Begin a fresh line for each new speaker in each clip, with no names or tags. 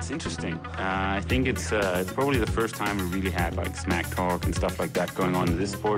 It's interesting. I think it's probably the first time we really had like smack talk and stuff like that going on in this sport.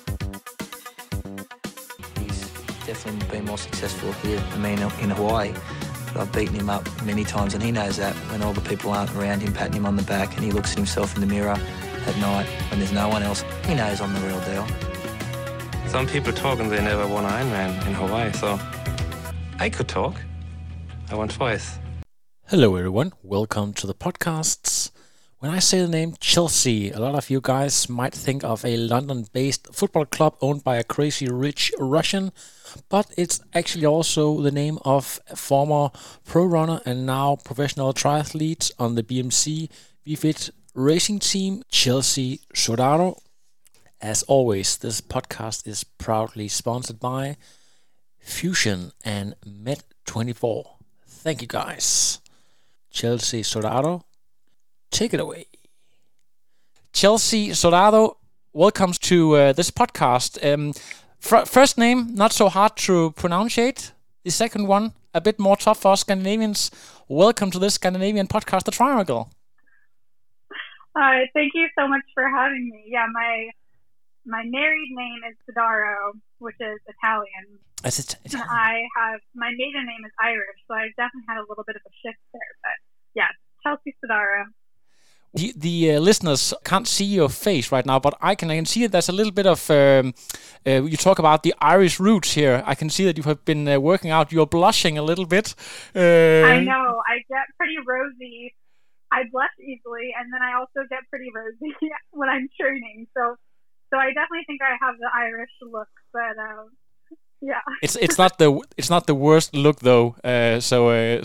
He's definitely been more successful here than me in Hawaii. But I've beaten him up many times, and he knows that when all the people aren't around him patting him on the back and he looks at himself in the mirror at night when there's no one else, he knows I'm the real deal.
Some people talk and they never won an Ironman in Hawaii, so I could talk. I won twice.
Hello everyone, welcome to the podcasts. When I say the name Chelsea, a lot of you guys might think of a London-based football club owned by a crazy rich Russian, but it's actually also the name of a former pro runner and now professional triathlete on the BMC BFit racing team, Chelsea Sodaro. As always, this podcast is proudly sponsored by Fusion and Med24. Thank you guys. Chelsea Sodaro, take it away. Chelsea Sodaro, welcome to this podcast. First name, not so hard to pronunciate. The second one, a bit more tough for us Scandinavians. Welcome to this Scandinavian podcast, The Triangle.
Thank you so much for having me. Yeah, my married name is Sodaro, which is Italian.
Is it Italian?
My maiden name is Irish, so I've definitely had a little bit of a shift there. But yeah, Chelsea Sodaro.
The listeners can't see your face right now, but I can see that there's a little bit of, you talk about the Irish roots here. I can see that you have been working out. You're blushing a little bit.
I know. I get pretty rosy. I blush easily, and then I also get pretty rosy when I'm training. So I definitely think I have the Irish look, but yeah.
It's not the worst look though. So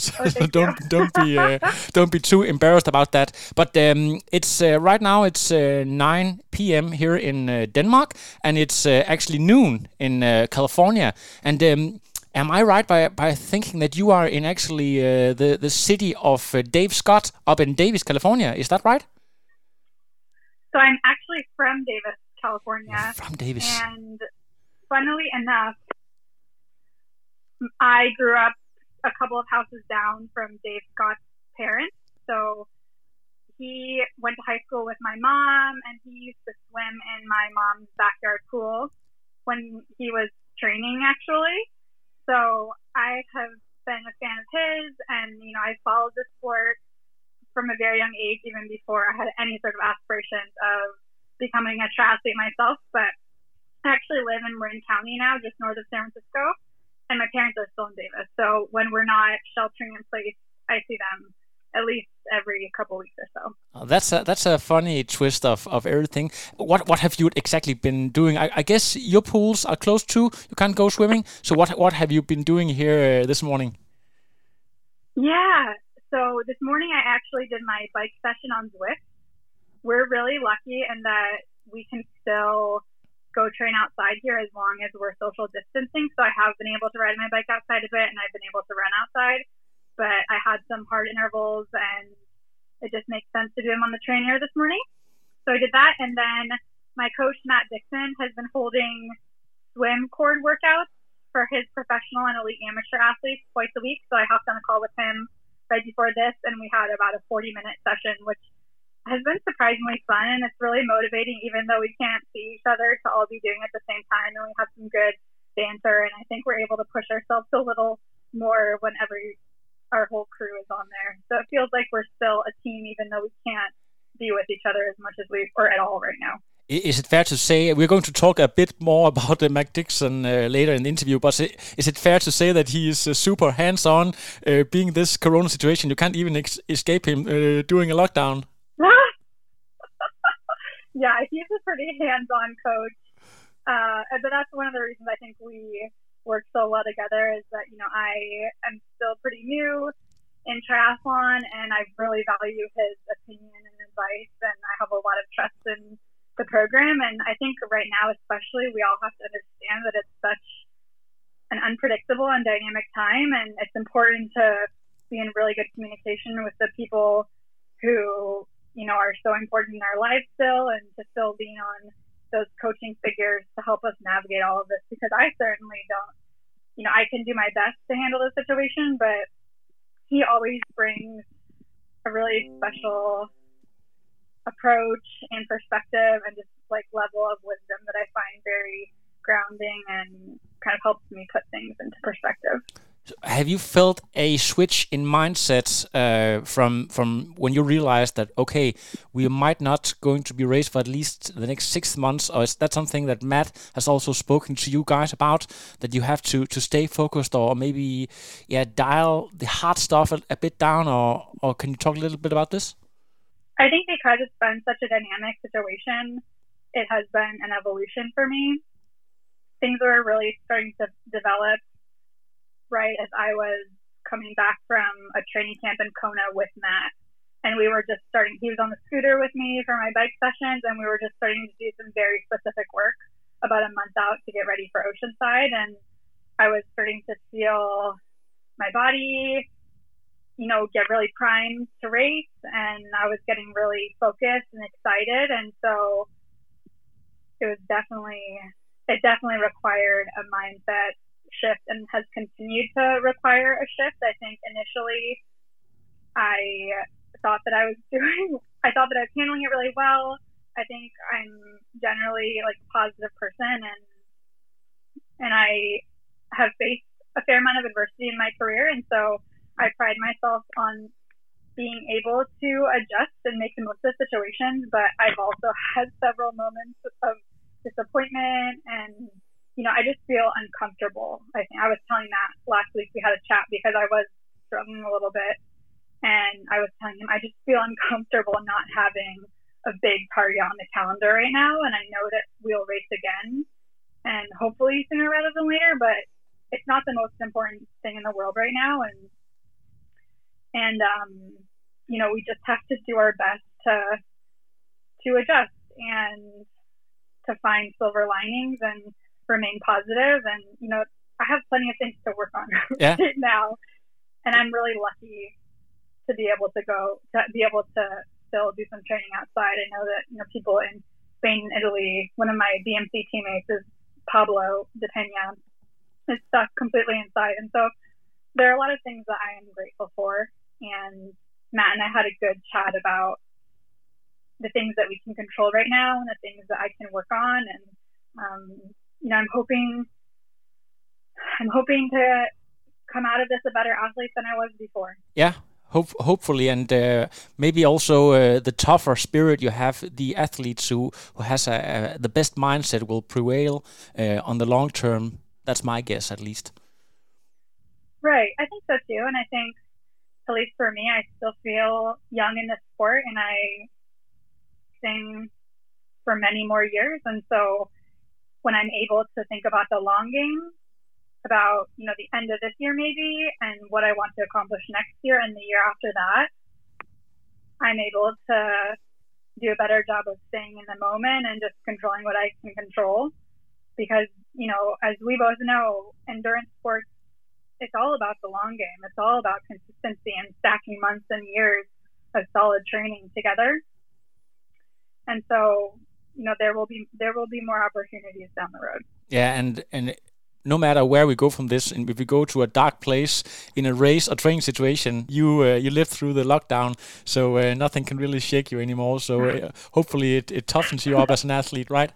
don't be too embarrassed about that. But it's right now it's 9 p.m. here in Denmark, and it's actually noon in California. And am I right by thinking that you are in actually the city of Dave Scott up in Davis, California? Is that right?
So I'm actually from Davis, California.
From Davis.
And funnily enough, I grew up a couple of houses down from Dave Scott's parents. So he went to high school with my mom, and he used to swim in my mom's backyard pool when he was training, actually. So I have been a fan of his, and, I followed the sport from a very young age, even before I had any sort of aspirations of becoming a triathlete myself. But I actually live in Marin County now, just north of San Francisco, and my parents are still in Davis. So when we're not sheltering in place, I see them at least every couple weeks or so.
That's a funny twist of everything. What have you exactly been doing? I guess your pools are close to. You can't go swimming. So what have you been doing here this morning?
Yeah. So this morning I actually did my bike session on Zwift. We're really lucky in that we can still go train outside here as long as we're social distancing. So I have been able to ride my bike outside a bit, and I've been able to run outside. But I had some hard intervals, and it just makes sense to do them on the trainer this morning. So I did that, and then my coach, Matt Dixon, has been holding swim cord workouts for his professional and elite amateur athletes twice a week. So I hopped on a call with him right before this, and we had about a 40-minute session, which has been surprisingly fun, and it's really motivating, even though we can't see each other, to all be doing it at the same time, and we have some good banter, and I think we're able to push ourselves a little more whenever our whole crew is on there. So it feels like we're still a team, even though we can't be with each other as much as we are at all right now.
Is it fair to say, we're going to talk a bit more about Matt Dixon later in the interview, but is it fair to say that he is super hands-on, being this corona situation? You can't even escape him during a lockdown.
Yeah, he's a pretty hands-on coach. But that's one of the reasons I think we work so well together is that, I am still pretty new in triathlon, and I really value his opinion and advice, and I have a lot of trust in the program. And I think right now, especially, we all have to understand that it's such an unpredictable and dynamic time, and it's important to be in really good communication with the people who are so important in our lives still, and to still lean on those coaching figures to help us navigate all of this, because I certainly don't, I can do my best to handle the situation, but he always brings a really special approach and perspective and just like level of wisdom that I find very grounding and kind of helps me put things into perspective.
Have you felt a switch in mindset from when you realized that, okay, we might not going to be raised for at least the next 6 months, or is that something that Matt has also spoken to you guys about, that you have to stay focused or maybe dial the hard stuff a bit down, or can you talk a little bit about this?
I think because it's been such a dynamic situation, it has been an evolution for me. Things were really starting to develop right as I was coming back from a training camp in Kona with Matt. And we were just starting, he was on the scooter with me for my bike sessions, and we were just starting to do some very specific work about a month out to get ready for Oceanside. And I was starting to feel my body, get really primed to race, and I was getting really focused and excited. And so it definitely required a mindset shift and has continued to require a shift. I think initially I thought that I was handling it really well. I think I'm generally like a positive person, and I have faced a fair amount of adversity in my career, and so I pride myself on being able to adjust and make the most of situations. But I've also had several moments of disappointment, and I just feel uncomfortable. I think I was telling Matt last week, we had a chat because I was struggling a little bit, and I was telling him I just feel uncomfortable not having a big target on the calendar right now, and I know that we'll race again, and hopefully sooner rather than later, but it's not the most important thing in the world right now, and we just have to do our best to adjust and to find silver linings and remain positive. And I have plenty of things to work on right now, and I'm really lucky to be able to still do some training outside. I know that people in Spain and Italy, one of my BMC teammates is Pablo de Peña, is stuck completely inside, and so there are a lot of things that I am grateful for. And Matt and I had a good chat about the things that we can control right now and the things that I can work on, and I'm hoping to come out of this a better athlete than I was before.
Yeah, hopefully, and maybe also the tougher spirit you have, the athletes who has the best mindset will prevail on the long term. That's my guess, at least.
Right, I think so too, and I think, at least for me, I still feel young in this sport, and I sing for many more years, and so when I'm able to think about the long game, about the end of this year maybe, and what I want to accomplish next year and the year after that, I'm able to do a better job of staying in the moment and just controlling what I can control. Because as we both know, endurance sports, it's all about the long game. It's all about consistency and stacking months and years of solid training together. And so, there will be more opportunities down the road.
Yeah, and no matter where we go from this, and if we go to a dark place in a race or training situation, you lived through the lockdown, so nothing can really shake you anymore. So hopefully it toughens you up as an athlete, right?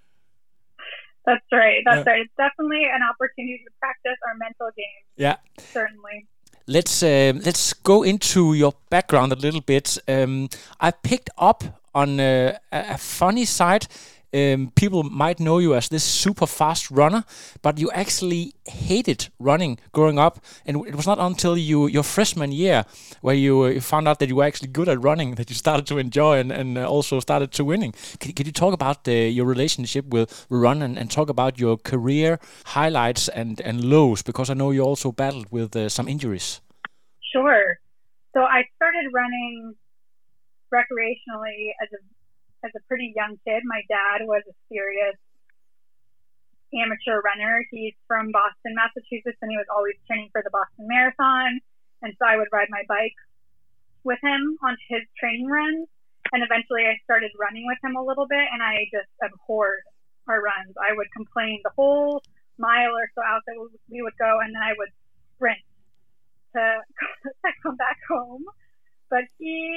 That's right. That's right. It's definitely an opportunity to practice our mental game.
Yeah,
certainly.
Let's go into your background a little bit. I picked up on a funny side. People might know you as this super fast runner, but you actually hated running growing up, and it was not until your freshman year where you found out that you were actually good at running that you started to enjoy and also started to winning. Can you talk about your relationship with run and talk about your career highlights and lows, because I know you also battled with some injuries?
Sure. So I started running recreationally as a pretty young kid. My dad was a serious amateur runner. He's from Boston, Massachusetts, and he was always training for the Boston Marathon. And so I would ride my bike with him on his training runs. And eventually I started running with him a little bit, and I just abhorred our runs. I would complain the whole mile or so out that we would go, and then I would sprint to come back home. But he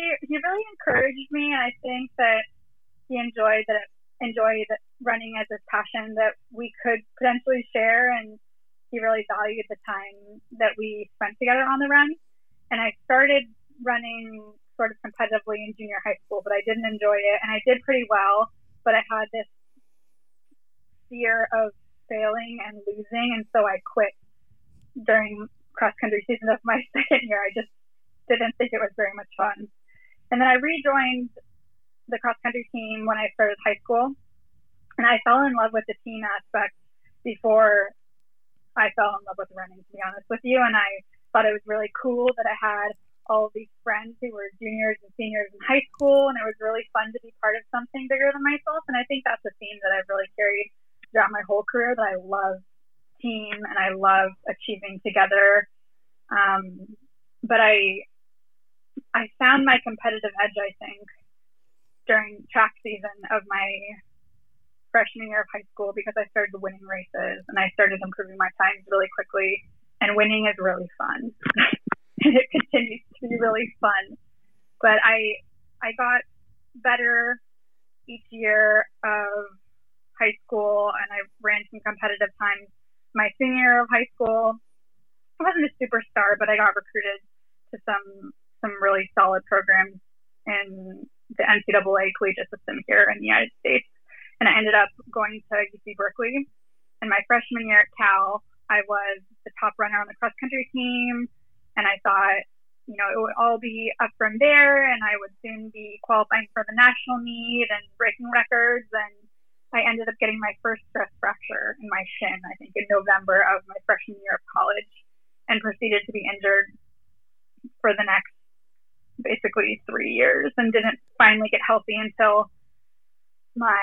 potentially share, and he really valued the time that we spent together on the run. And I started running sort of competitively in junior high school, but I didn't enjoy it, and I did pretty well, but I had this fear of failing and losing, and so I quit during cross-country season of my second year. I just didn't think it was very much fun. And then I rejoined the cross-country team when I started high school, and I fell in love with the team aspect before I fell in love with running, to be honest with you. And I thought it was really cool that I had all of these friends who were juniors and seniors in high school, and it was really fun to be part of something bigger than myself. And I think that's a theme that I've really carried throughout my whole career, that I love team and I love achieving together. But I found my competitive edge, I think, during track season of my freshman year of high school, because I started winning races and I started improving my times really quickly, and winning is really fun. And it continues to be really fun. But I got better each year of high school, and I ran some competitive times my senior year of high school. I wasn't a superstar, but I got recruited to some really solid programs in the NCAA collegiate system here in the United States. And I ended up going to UC Berkeley. And my freshman year at Cal, I was the top runner on the cross-country team. And I thought, it would all be up from there, and I would soon be qualifying for the national meet and breaking records. And I ended up getting my first stress fracture in my shin, I think in November of my freshman year of college, and proceeded to be injured for the next basically 3 years, and didn't finally get healthy until my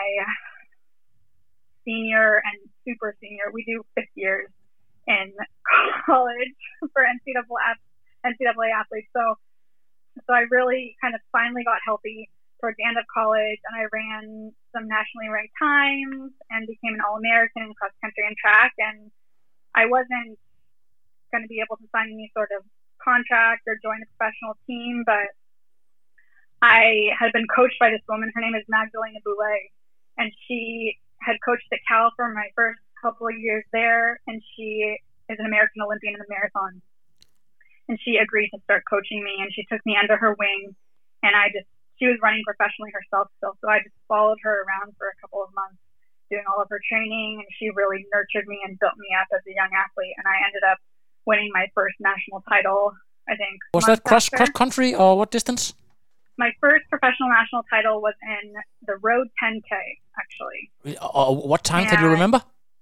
senior and super senior. We do 5th years in college for NCAA athletes. So I really kind of finally got healthy towards the end of college, and I ran some nationally ranked times and became an All-American in cross country and track. And I wasn't going to be able to sign any sort of contract or join a professional team, but I had been coached by this woman. Her name is Magdalena Boulet, and she had coached at Cal for my first couple of years there, and she is an American Olympian in the marathon. And she agreed to start coaching me, and she took me under her wing, and she was running professionally herself still, so I just followed her around for a couple of months doing all of her training, and she really nurtured me and built me up as a young athlete, and I ended up winning my first national title, I think.
Was that cross country, or what distance?
My first professional national title was in the road 10K, actually.
What time can you remember?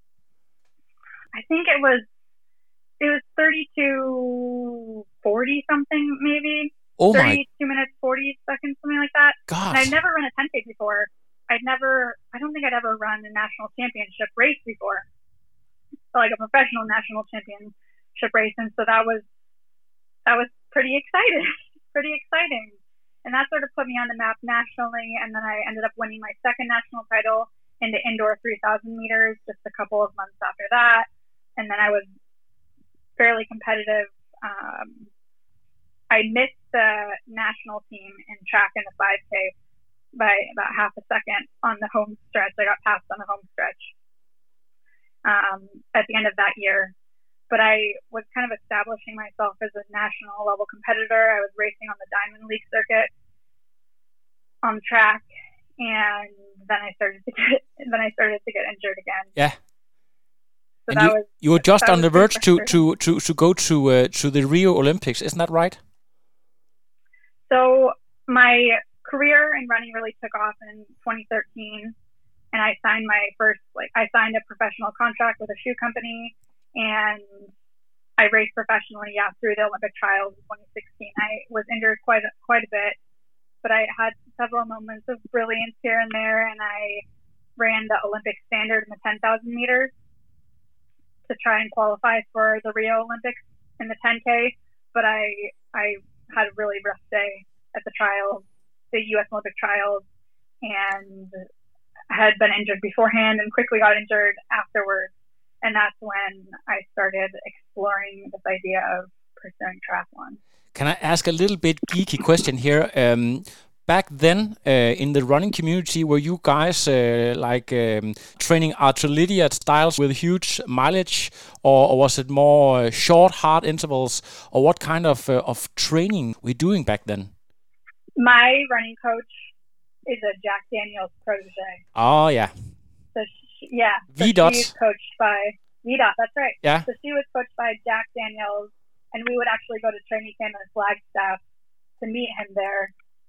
I think it was 32:40 something, maybe.
Oh
32 minutes, 40 seconds, something like that.
God.
And I'd never run a 10K before. I don't think I'd ever run a national championship race before. So like a professional national championship race. And so that was pretty exciting. And that sort of put me on the map nationally. And then I ended up winning my second national title in the indoor 3,000 meters just a couple of months after that. And then I was fairly competitive. I missed the national team in track in the 5K by about half a second on the home stretch. I got passed on the home stretch at the end of that year. But I was kind of establishing myself as a national level competitor. I was racing on the Diamond League circuit on track, and then I started to get injured again.
Yeah.
So
and you were just on the verge to go to the Rio Olympics, isn't that right?
So my career in running really took off in 2013, and I signed I signed a professional contract with a shoe company. And I raced professionally, through the Olympic trials in 2016. I was injured quite a bit, but I had several moments of brilliance here and there, and I ran the Olympic standard in the 10,000 meters to try and qualify for the Rio Olympics in the 10K. But I had a really rough day at the trials, the U.S. Olympic trials, and had been injured beforehand and quickly got injured afterwards. And that's when I started exploring this idea of pursuing triathlon.
Can I ask a little bit geeky question here? back then in the running community, were you guys training intermediate styles with huge mileage, or was it more short, hard intervals, or what kind of training were you doing back then?
My running coach is a Jack Daniels protege.
Oh, yeah.
So
VDOT.
she's coached by VDOT, that's right.
Yeah.
So she was coached by Jack Daniels, and we would actually go to training camp in Flagstaff to meet him there.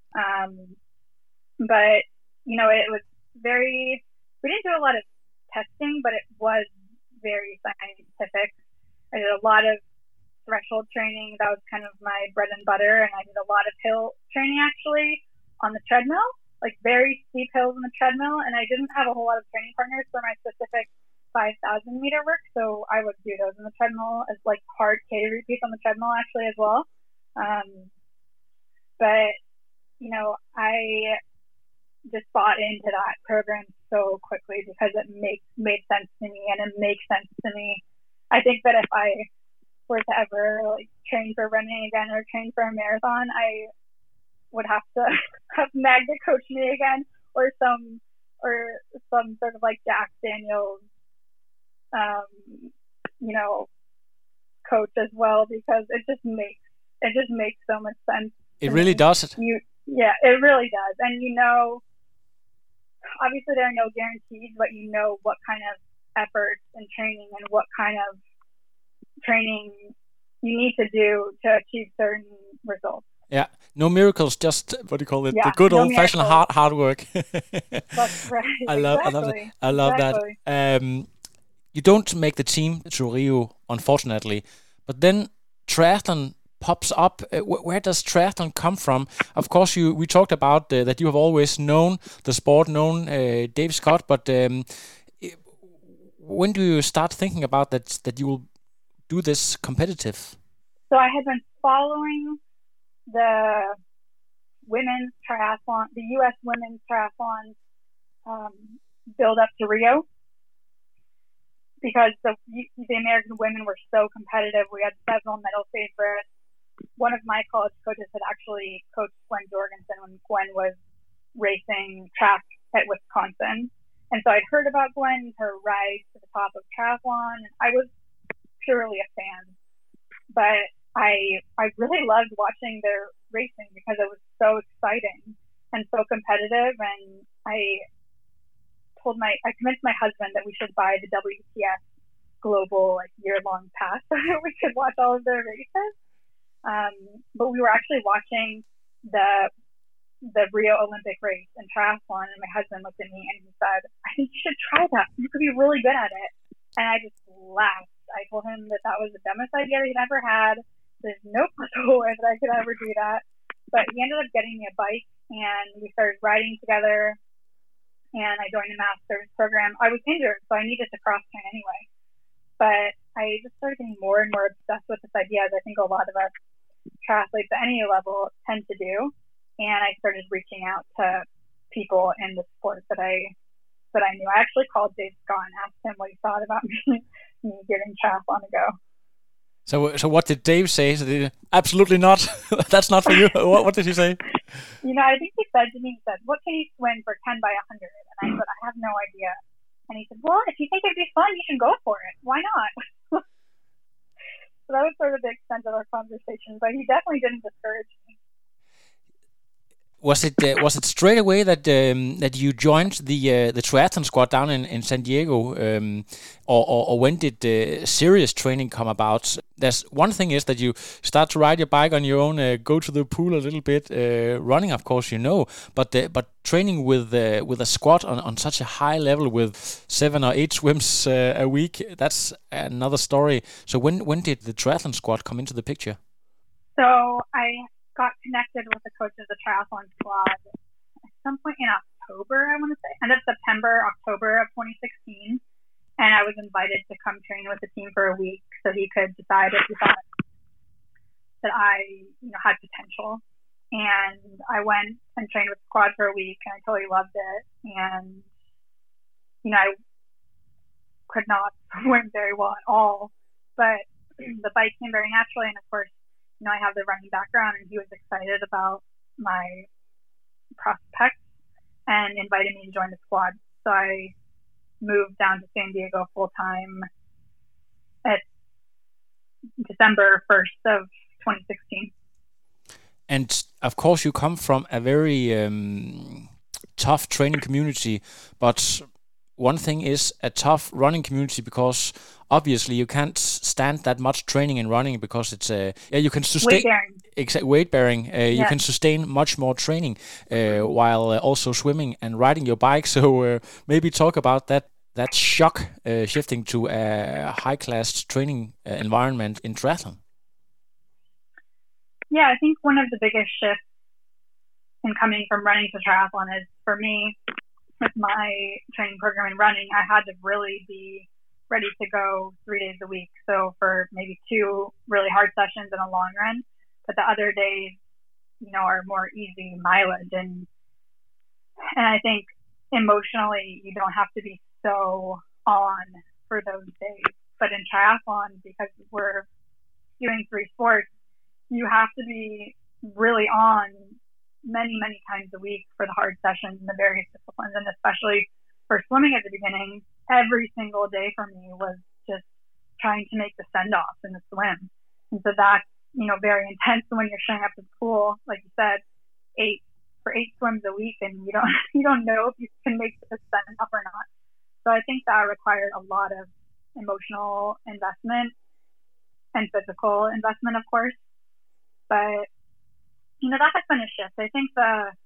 But, it was we didn't do a lot of testing, but it was very scientific. I did a lot of threshold training. That was kind of my bread and butter. And I did a lot of hill training actually on the treadmill, like very steep hills on the treadmill. And I didn't have a whole lot of training partners for my specific 5,000 meter work. So I would do those on the treadmill as like hard K repeats on the treadmill actually as well. But, I just bought into that program so quickly because it made sense to me, and it makes sense to me. I think that if I were to ever train for running again or train for a marathon, I would have to have Magda coach me again, or some sort of like Jack Daniels, coach as well, because it just makes so much sense.
It really does.
Yeah, it really does. And obviously there are no guarantees, but what kind of effort and training and what kind of training you need to do to achieve certain results.
Yeah, no miracles, just what do you call it? The good old-fashioned hard work.
That's right.
I love that. You don't make the team to Rio, unfortunately, but then triathlon pops up. Where does triathlon come from? Of course, we talked about that you have always known the sport, known Dave Scott, but when do you start thinking about that you will do this competitive?
So I had been following the women's triathlon, the U.S. women's triathlon build up to Rio, because the American women were so competitive. We had several medal favorites. One of my college coaches had actually coached Gwen Jorgensen when Gwen was racing track at Wisconsin. And so I'd heard about Gwen, her rise to the top of triathlon, and I was purely a fan. But I really loved watching their racing because it was so exciting and so competitive. And I convinced my husband that we should buy the WTF global year-long pass so that we could watch all of their races. But we were actually watching the Rio Olympic race in triathlon, and my husband looked at me and he said, "I think you should try that. You could be really good at it." And I just laughed. I told him that was the dumbest idea that he'd ever had. There's no possible way that I could ever do that. But he ended up getting me a bike, and we started riding together, and I joined the master's program. I was injured, so I needed to cross train anyway. But I just started getting more and more obsessed with this idea, as I think a lot of us triathletes at any level tend to do. And I started reaching out to people in the sport that I knew. I actually called Dave Scott and asked him what he thought about me giving triathlon a go.
So what did Dave say? Absolutely not. That's not for you. What did he say?
I think he said to me, "What can you swim for 10 by 100?" And I said, "I have no idea." And he said, "Well, if you think it'd be fun, you should go for it. Why not?" So that was sort of the extent of our conversation, but he definitely didn't discourage me.
Was it straight away that you joined the triathlon squad down in San Diego, or when did serious training come about? There's one thing is that you start to ride your bike on your own, go to the pool a little bit, running, of course, but training with a squad on such a high level with 7 or 8 swims a week, that's another story. So when did the triathlon squad come into the picture?
So I got connected with the coach of the triathlon squad at some point in October, I want to say, end of September, October of 2016. And I was invited to come train with the team for a week so he could decide if he thought that I had potential. And I went and trained with the squad for a week, and I totally loved it. And, I could not swim very well at all, but the bike came very naturally. And of course, I have the running background, and he was excited about prospects and invited me to join the squad. So I moved down to San Diego full time at December 1st of 2016.
And of course, you come from a very tough training community, but one thing is a tough running community because obviously you can't stand that much training and running because it's you can sustain weight bearing. You can sustain much more training while also swimming and riding your bike. So maybe talk about that shock shifting to a high class training environment in triathlon.
Yeah, I think one of the biggest shifts in coming from running to triathlon is, for me, with my training program in running, I had to really be ready to go 3 days a week. So for maybe 2 really hard sessions and a long run, but the other days, are more easy mileage. And I think emotionally, you don't have to be so on for those days. But in triathlon, because we're doing 3 sports, you have to be really on many, many times a week for the hard sessions in the various disciplines. And especially for swimming at the beginning, every single day for me was just trying to make the send-off in the swim. And so that's, very intense when you're showing up to school, like you said, 8 swims a week, and you don't know if you can make the send-off or not. So I think that required a lot of emotional investment and physical investment, of course. But, that has been a shift. I think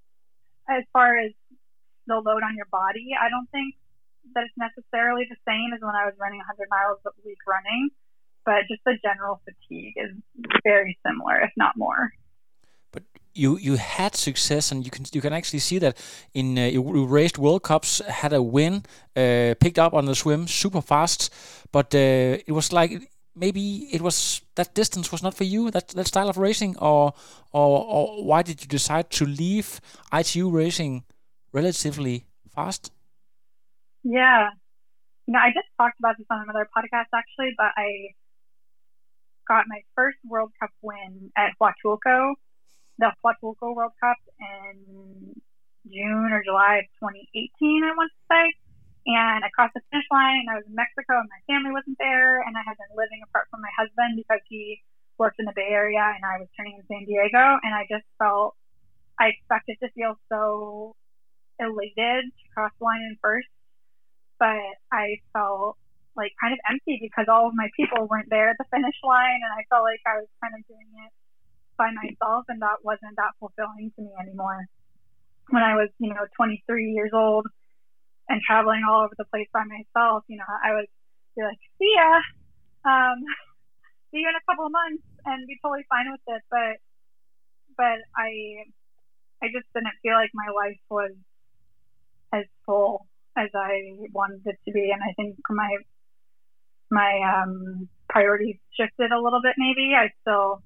as far as the load on your body, I don't think that it's necessarily the same as when I was running 100 miles a week running, but just the general fatigue is very similar, if not more.
But you had success, and you can actually see that in you raced World Cups, had a win, picked up on the swim super fast, but it was like maybe it was that distance was not for you, that style of racing, or why did you decide to leave ITU racing relatively fast?
Yeah, I just talked about this on another podcast actually, but I got my first World Cup win at Huatulco, the Huatulco World Cup in June or July of 2018, I want to say. And I crossed the finish line, and I was in Mexico, and my family wasn't there, and I had been living apart from my husband because he worked in the Bay Area, and I was training in San Diego, and I just felt, I expected to feel so elated to cross the line in first, but I felt like kind of empty because all of my people weren't there at the finish line, and I felt like I was kind of doing it by myself, and that wasn't that fulfilling to me anymore. When I was, 23 years old, and traveling all over the place by myself, I would be like, see ya, see you in a couple of months, and be totally fine with it. But I just didn't feel like my life was as full as I wanted it to be, and I think my priorities shifted a little bit. Maybe I still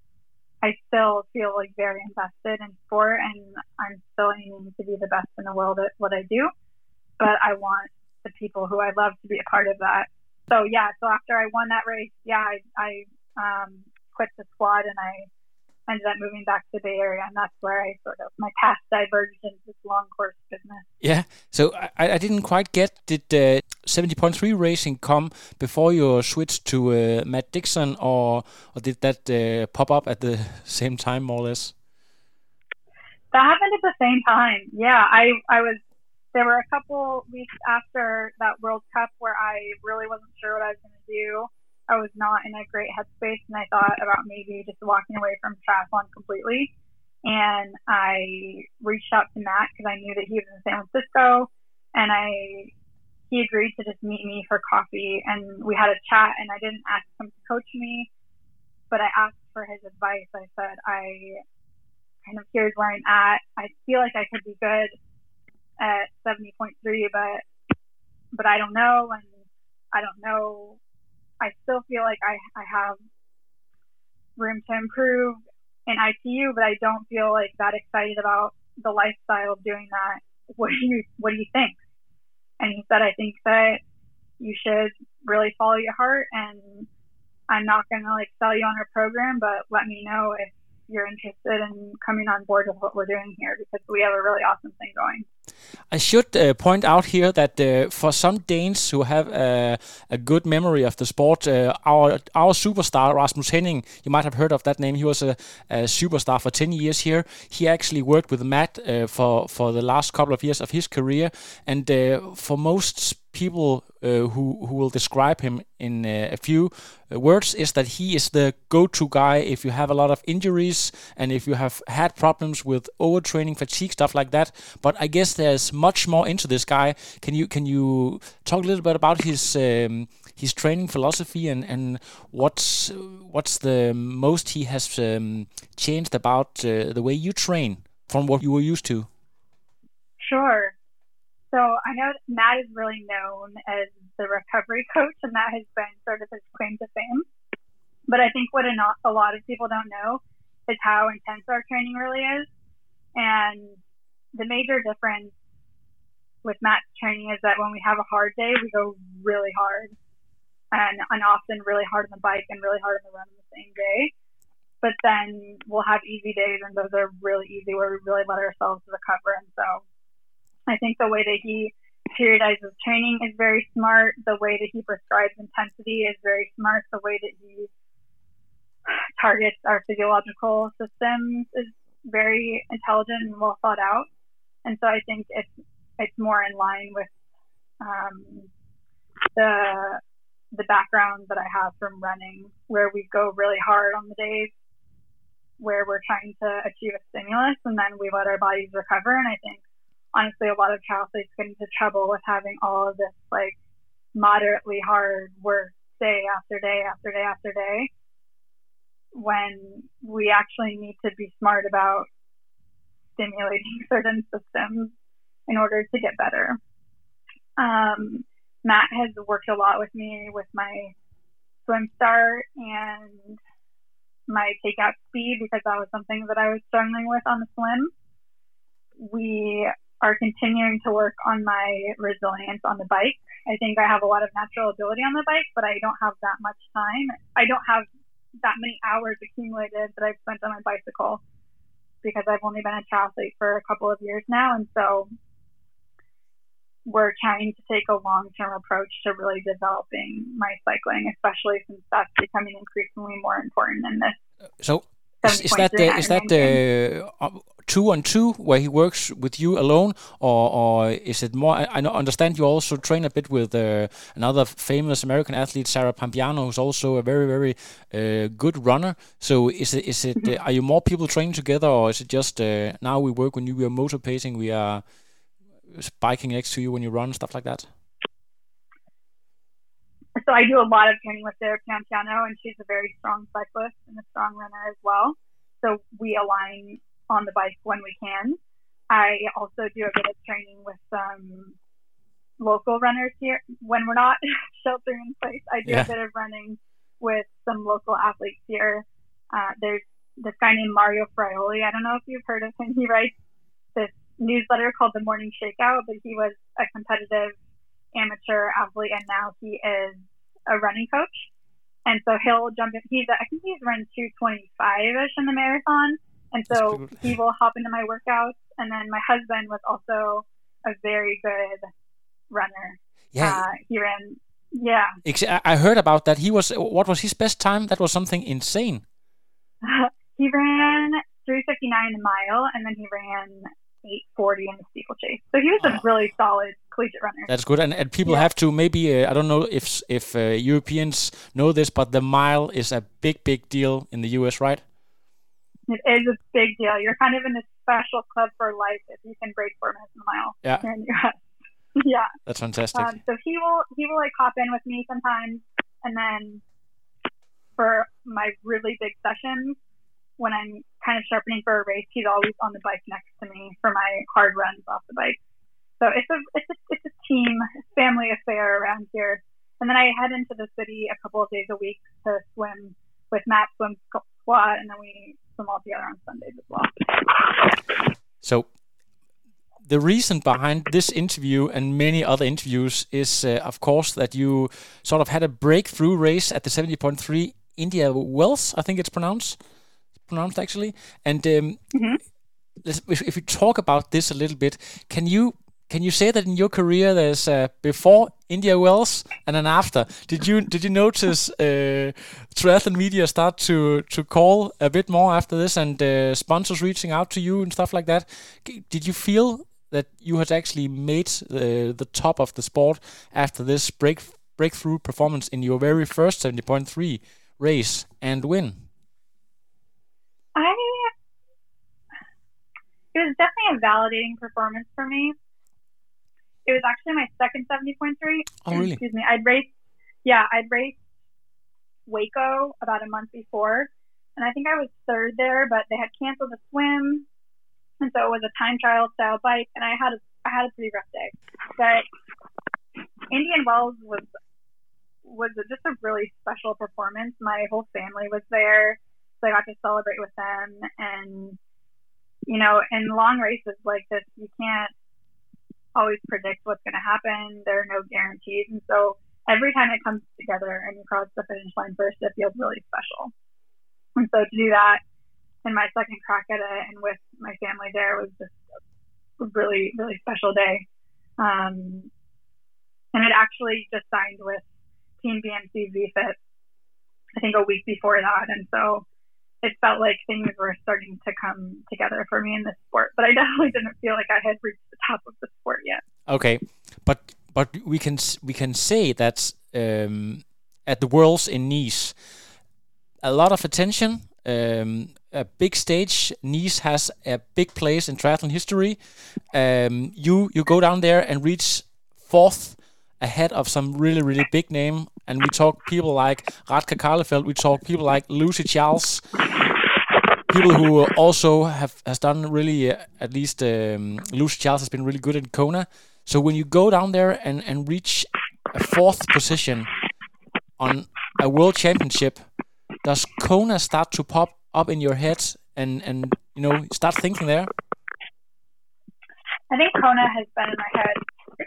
feel like very invested in sport, and I'm still aiming to be the best in the world at what I do. But I want the people who I love to be a part of that. So after I won that race, I quit the squad, and I ended up moving back to the Bay Area, and that's where my path diverged into this long course business.
Yeah, so I didn't quite get, did 70.3 racing come before you switched to Matt Dixon, or did that pop up at the same time, more or less?
That happened at the same time. Yeah, there were a couple weeks after that World Cup where I really wasn't sure what I was going to do. I was not in a great headspace, and I thought about maybe just walking away from triathlon completely. And I reached out to Matt because I knew that he was in San Francisco, and he agreed to just meet me for coffee, and we had a chat. And I didn't ask him to coach me, but I asked for his advice. I said, here's where I'm at. I feel like I could be good at 70.3, but I don't know, and I don't know. I still feel like I have room to improve in ITU, but I don't feel like that excited about the lifestyle of doing that. What do you think? And he said, I think that you should really follow your heart, and I'm not going to sell you on our program, but let me know if you're interested in coming on board with what we're doing here, because we have a really awesome thing going.
I should point out here that for some Danes who have a good memory of the sport, our superstar Rasmus Henning, you might have heard of that name. He was a superstar for 10 years here. He actually worked with Matt for the last couple of years of his career, and for most people who will describe him in a few words is that he is the go-to guy if you have a lot of injuries and if you have had problems with overtraining, fatigue, stuff like that. But I guess there's much more into this guy. Can you talk a little bit about his training philosophy and what's the most he has changed about the way you train from what you were used to?
Sure. So I know Matt is really known as the recovery coach, and that has been sort of his claim to fame. But I think what a lot of people don't know is how intense our training really is. And the major difference with Matt's training is that when we have a hard day, we go really hard, and often really hard on the bike and really hard on the run on the same day. But then we'll have easy days, and those are really easy where we really let ourselves recover. And so I think the way that he periodizes training is very smart. The way that he prescribes intensity is very smart. The way that he targets our physiological systems is very intelligent and well thought out. And so I think it's more in line with the background that I have from running, where we go really hard on the days where we're trying to achieve a stimulus, and then we let our bodies recover. And I think honestly, a lot of triathletes get into trouble with having all of this like moderately hard work day after day after day after day, when we actually need to be smart about stimulating certain systems in order to get better. Matt has worked a lot with me with my swim start and my takeout speed, because that was something that I was struggling with on the swim. We are continuing to work on my resilience on the bike. I think I have a lot of natural ability on the bike, but I don't have that much time. I don't have that many hours accumulated that I've spent on my bicycle, because I've only been a triathlete for a couple of years now. And so we're trying to take a long-term approach to really developing my cycling, especially since that's becoming increasingly more important in this.
So is that the 2-on-2 where he works with you alone, or is it more? I understand you also train a bit with another famous American athlete, Sarah Pampiano, who's also a very, very good runner. So is it are you more people training together, or is it just now we work when you are motor pacing, we are biking next to you when you run, stuff like that?
So I do a lot of training with Sarah Pampiano, and she's a very strong cyclist and a strong runner as well. So we align on the bike when we can. I also do a bit of training with some local runners here when we're not sheltering in place. I do a bit of running with some local athletes here. There's this guy named Mario Fraioli. I don't know if you've heard of him. He writes this newsletter called The Morning Shakeout, but he was a competitive amateur athlete, and now he is a running coach. And so he'll jump in. I think he's run 2:25-ish in the marathon. And so he will hop into my workouts. And then my husband was also a very good runner.
Yeah.
He ran, yeah.
I heard about that. What was his best time? That was something insane.
He ran 3:59 a mile, and then he ran 8:40 in the steeplechase. So he was a really solid collegiate runner.
That's good. And people have to maybe, I don't know if Europeans know this, but the mile is a big deal in the US, right?
It is a big deal. You're kind of in a special club for life if you can break 4 minutes in the mile here in the US. Yeah.
That's fantastic.
So he will like hop in with me sometimes, and then for my really big sessions, when I'm kind of sharpening for a race, he's always on the bike next to me for my hard runs off the bike. So it's a team family affair around here. And then I head into the city a couple of days a week to swim with Matt Swim Squad, and then we swim all together on Sundays as well.
So the reason behind this interview and many other interviews is, of course, that you sort of had a breakthrough race at the 70.3 India Wells, I think it's pronounced actually. And if we talk about this a little bit, can you say that in your career there's before India Wells and an after? Did you notice triathlon media start to call a bit more after this, and sponsors reaching out to you and stuff like that? Did you feel that you had actually made the top of the sport after this breakthrough performance in your very first 70.3 race and win?
It was definitely a validating performance for me. It was actually my second 70.3.
Oh, really?
Excuse me. I'd raced Waco about a month before, and I think I was third there, but they had canceled the swim, and so it was a time trial style bike, and I had a pretty rough day. But Indian Wells was just a really special performance. My whole family was there, so I got to celebrate with them. And you know, in long races like this, you can't always predict what's going to happen. There are no guarantees, and so every time it comes together and you cross the finish line first, it feels really special. And so to do that in my second crack at it and with my family there was just a really, really special day. And it actually just signed with Team BMC VFit, I think a week before that. And so it felt like things were starting to come together for me in this sport. But I definitely didn't feel like I had reached the top of the sport yet.
Okay, but we can say that at the Worlds in Nice, a lot of attention, a big stage. Nice has a big place in triathlon history. You go down there and reach fourth ahead of some really, really big name. And we talk people like Radka Karlefeld, we talk people like Lucy Charles, people who also has done really, at least Lucy Charles has been really good in Kona. So when you go down there and reach a fourth position on a world championship, does Kona start to pop up in your head and you know, start thinking there?
I think Kona has been in my head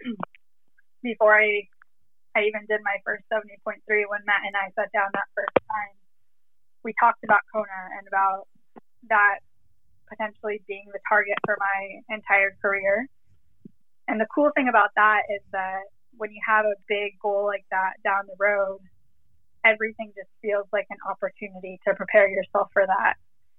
before I even did my first 70.3. When Matt and I sat down that first time, we talked about Kona and about that potentially being the target for my entire career. And the cool thing about that is that when you have a big goal like that down the road, everything just feels like an opportunity to prepare yourself for that.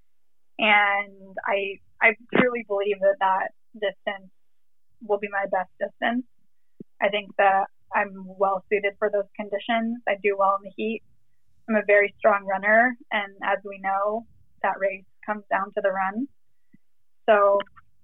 And I truly believe that distance will be my best distance. I think that I'm well suited for those conditions. I do well in the heat. I'm a very strong runner, and as we know, that race comes down to the run. So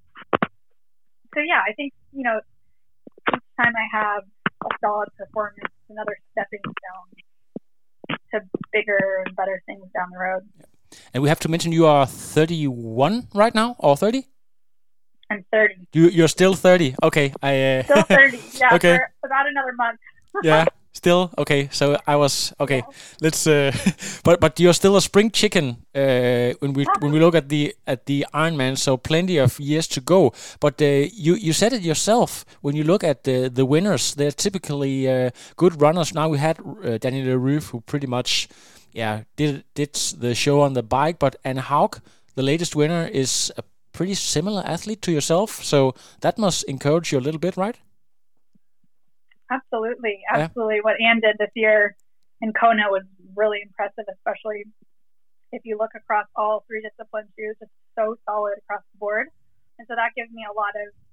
yeah, I think, you know, each time I have a solid performance, another stepping stone to bigger and better things down the road.
And we have to mention you are 31 right now, or 30?
I'm 30.
You're still 30. Okay.
Still 30. Yeah,
okay.
For about another month.
Yeah, still okay. So I was okay. Yeah. Let's. But you're still a spring chicken when we look at the Ironman. So plenty of years to go. But you said it yourself. When you look at the winners, they're typically good runners. Now we had Daniel Leroux, who pretty much did the show on the bike. But Anne Haug, the latest winner, is a pretty similar athlete to yourself. So that must encourage you a little bit, right?
Absolutely. Yeah. What Anne did this year in Kona was really impressive, especially if you look across all three disciplines. She was just so solid across the board. And so that gives me a lot of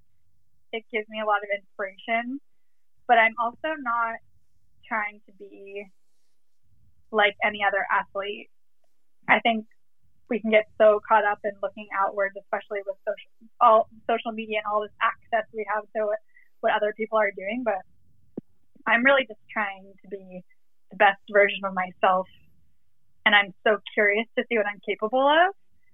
inspiration. But I'm also not trying to be like any other athlete. I think we can get so caught up in looking outwards, especially with social media and all this access we have to what other people are doing. But I'm really just trying to be the best version of myself. And I'm so curious to see what I'm capable of,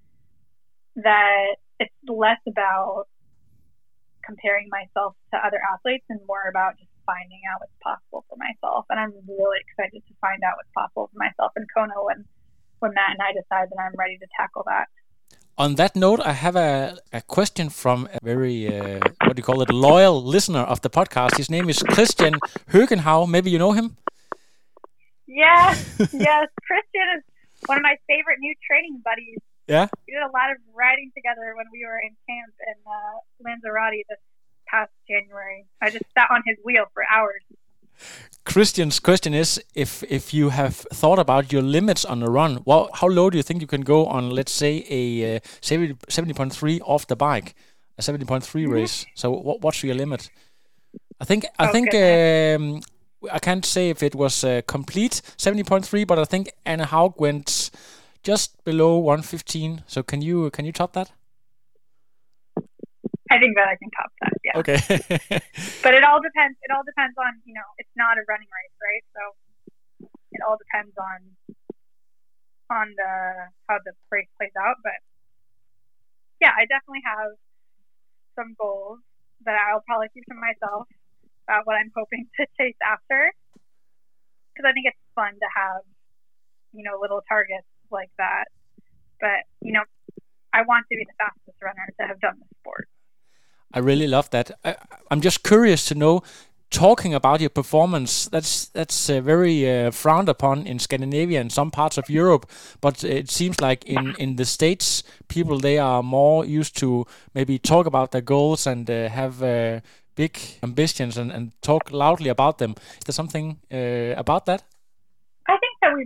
that it's less about comparing myself to other athletes and more about just finding out what's possible for myself. And I'm really excited to find out what's possible for myself in Kona when Matt and I decide that I'm ready to tackle that.
On that note, I have a question from a very, loyal listener of the podcast. His name is Christian Högenhau. Maybe you know him?
Yes. Christian is one of my favorite new training buddies.
Yeah.
We did a lot of riding together when we were in camp in Lanzarote this past January. I just sat on his wheel for hours.
Christian's question is if you have thought about your limits on the run. Well, how low do you think you can go on, let's say, a 70.3 off the bike, a 70.3 race? So what's your limit? I think I can't say if it was a complete 70.3, but I think Anna Haug went just below 115. So can you top that?
I think that I can top that. Yeah.
Okay.
But it all depends. It all depends on, it's not a running race, right? So it all depends on how the race plays out. But yeah, I definitely have some goals that I'll probably keep to myself about what I'm hoping to chase after. Because I think it's fun to have, little targets like that. But, I want to be the fastest runner to have done the sport.
I really love that. I'm just curious to know, talking about your performance, that's very frowned upon in Scandinavia and some parts of Europe, but it seems like in the States, people, they are more used to maybe talk about their goals and have big ambitions and talk loudly about them. Is there something about that?
I think that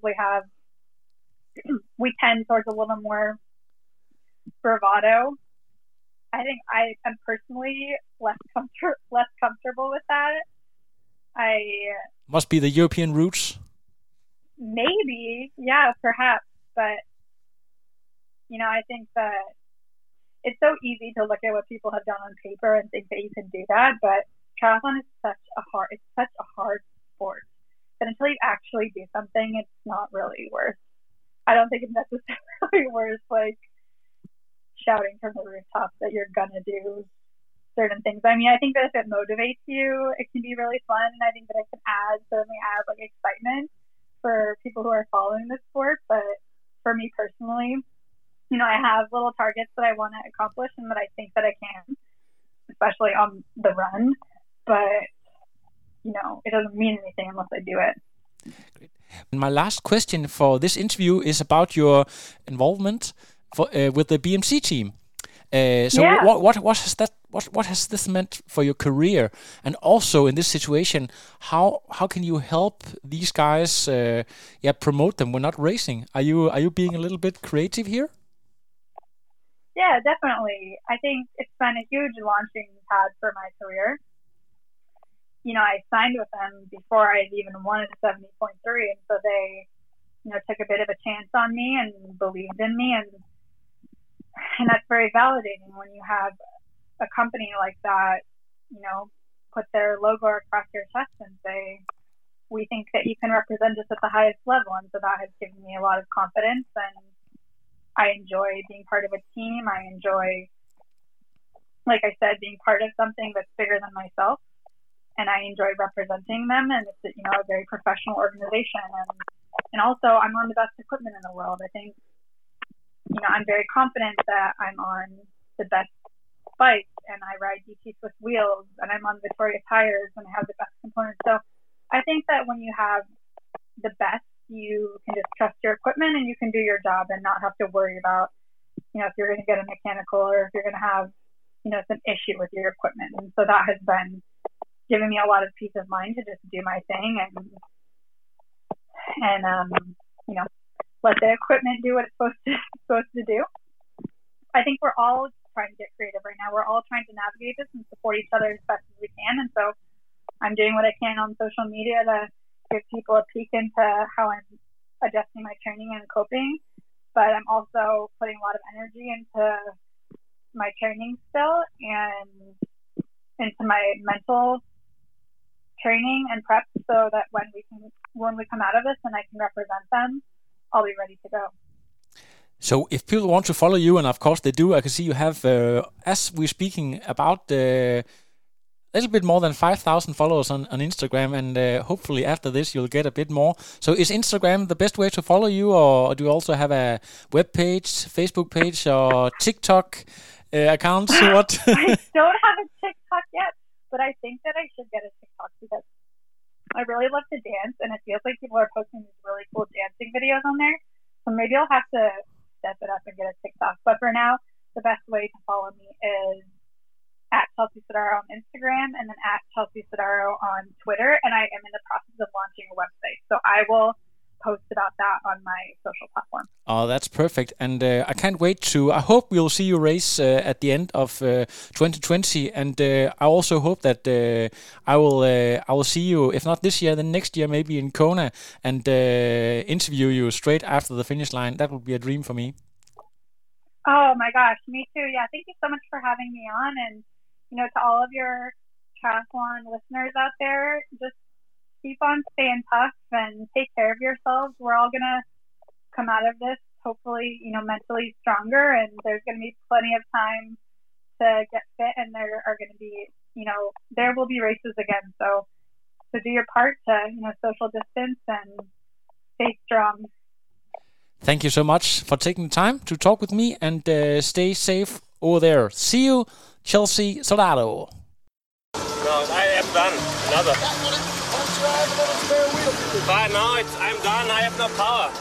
we tend towards a little more bravado. I think I am personally less comfortable with that.
Must be the European roots.
Maybe, yeah, perhaps. But I think that it's so easy to look at what people have done on paper and think that you can do that. But triathlon is such a hard sport that until you actually do something, it's not really worth. I don't think it's necessarily worth shouting from the rooftops that you're gonna do certain things. I mean, I think that if it motivates you, it can be really fun, and I think that it can certainly add excitement for people who are following the sport. But for me personally, I have little targets that I want to accomplish and that I think that I can, especially on the run. But it doesn't mean anything unless I do it.
Great. And my last question for this interview is about your involvement with the BMC team. What has this meant for your career, and also in this situation, how can you help these guys promote them when not racing? Are you being a little bit creative here?
Yeah, definitely. I think it's been a huge launching pad for my career. I signed with them before I even wanted a 70.3, and so they took a bit of a chance on me and believed in me, and that's very validating when you have a company like that, put their logo across your chest and say, we think that you can represent us at the highest level. And so that has given me a lot of confidence, and I enjoy being part of a team. I enjoy, like I said, being part of something that's bigger than myself, and I enjoy representing them. And it's a very professional organization, and also I'm on the best equipment in the world. I think I'm very confident that I'm on the best bike, and I ride DT Swiss wheels, and I'm on Victoria tires, and I have the best components. So I think that when you have the best, you can just trust your equipment and you can do your job and not have to worry about, if you're going to get a mechanical or if you're going to have, some issue with your equipment. And so that has been giving me a lot of peace of mind to just do my thing and let the equipment do what it's supposed to do. I think we're all trying to get creative right now. We're all trying to navigate this and support each other as best as we can. And so I'm doing what I can on social media to give people a peek into how I'm adjusting my training and coping. But I'm also putting a lot of energy into my training still and into my mental training and prep, so that when we come out of this and I can represent them, I'll be ready to go.
So if people want to follow you, and of course they do, I can see you have, as we're speaking, about a little bit more than 5,000 followers on Instagram, and hopefully after this you'll get a bit more. So is Instagram the best way to follow you, or do you also have a web page, Facebook page, or TikTok account? What?
I don't have a TikTok yet, but I think that I should get a TikTok because I really love to dance, and it feels like people are posting these really cool dancing videos on there. So maybe I'll have to step it up and get a TikTok. But for now, the best way to follow me is at Chelsea Sodaro on Instagram and then at Chelsea Sodaro on Twitter. And I am in the process of launching a website. So I will post about that on my social platform.
Oh, that's perfect. And I can't wait I hope we'll see you race at the end of 2020. And I also hope that I will see you, if not this year, then next year, maybe in Kona, and interview you straight after the finish line. That would be a dream for me.
Oh my gosh, me too. Yeah, thank you so much for having me on. And, to all of your triathlon listeners out there, just keep on staying tough and take care of yourselves. We're all going to come out of this, hopefully, mentally stronger, and there's going to be plenty of time to get fit, and there are going to be, there will be races again. So do your part to, social distance and stay strong.
Thank you so much for taking the time to talk with me, and stay safe over there. See you, Chelsea Sodaro.
No, I am done. Another. But no, I'm done. I have no power.